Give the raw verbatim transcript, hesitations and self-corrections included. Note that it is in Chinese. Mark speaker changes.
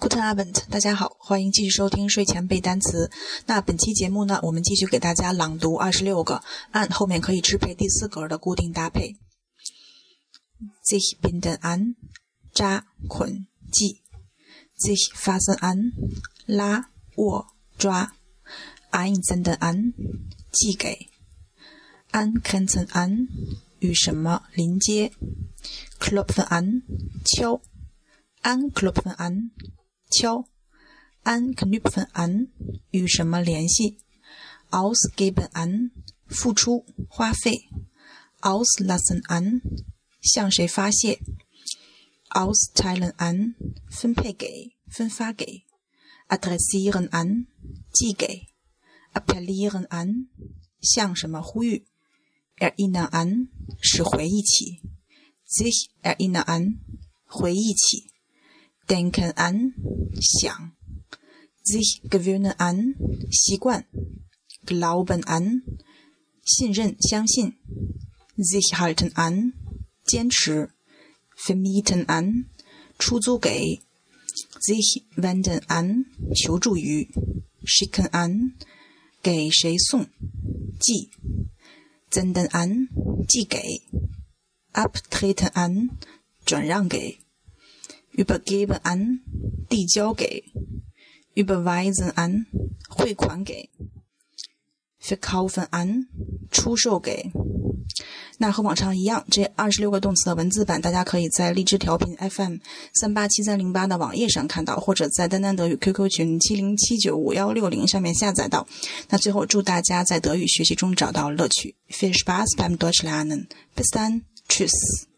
Speaker 1: Guten Abend， 大家好，欢迎继续收听睡前背单词。那本期节目呢，我们继续给大家朗读二十六个按后面可以支配第四格的固定搭配。sich binden an， 扎捆系 sich fassen an， 拉握抓 einsenden an， 寄给 angrenzen an， 与什么临接 klopfen an， 敲 anklopfen an， 敲 anknüpfen an， 与什么联系 ausgeben an， 付出花费 auslassen an， 向谁发泄 austeilen an， 分配给分发给 adressieren an， 寄给 appellieren an， 向什么呼吁 erinnern an， 使回忆起 sich erinnern an， 回忆起denken an， 想 sich gewöhnen an， 习惯 glauben an， 信任相信 sich halten an， 坚持 vermieten an， 出租给 sich wenden an， 求助于 schicken an， 给谁送寄 senden an， 寄给 abtreten an， 转让给übergeben an， 递交给 überweisen an， 汇款给 verkaufen an， 出售给。那和往常一样，这二十六个动词的文字版大家可以在荔枝调频 F M 三八七三零八 的网页上看到，或者在丹丹德语 Q Q 群七零七九五一六零上面下载到。那最后祝大家在德语学习中找到乐趣。Viel Spaß beim Deutschlernen. Bis dann. Tschüss.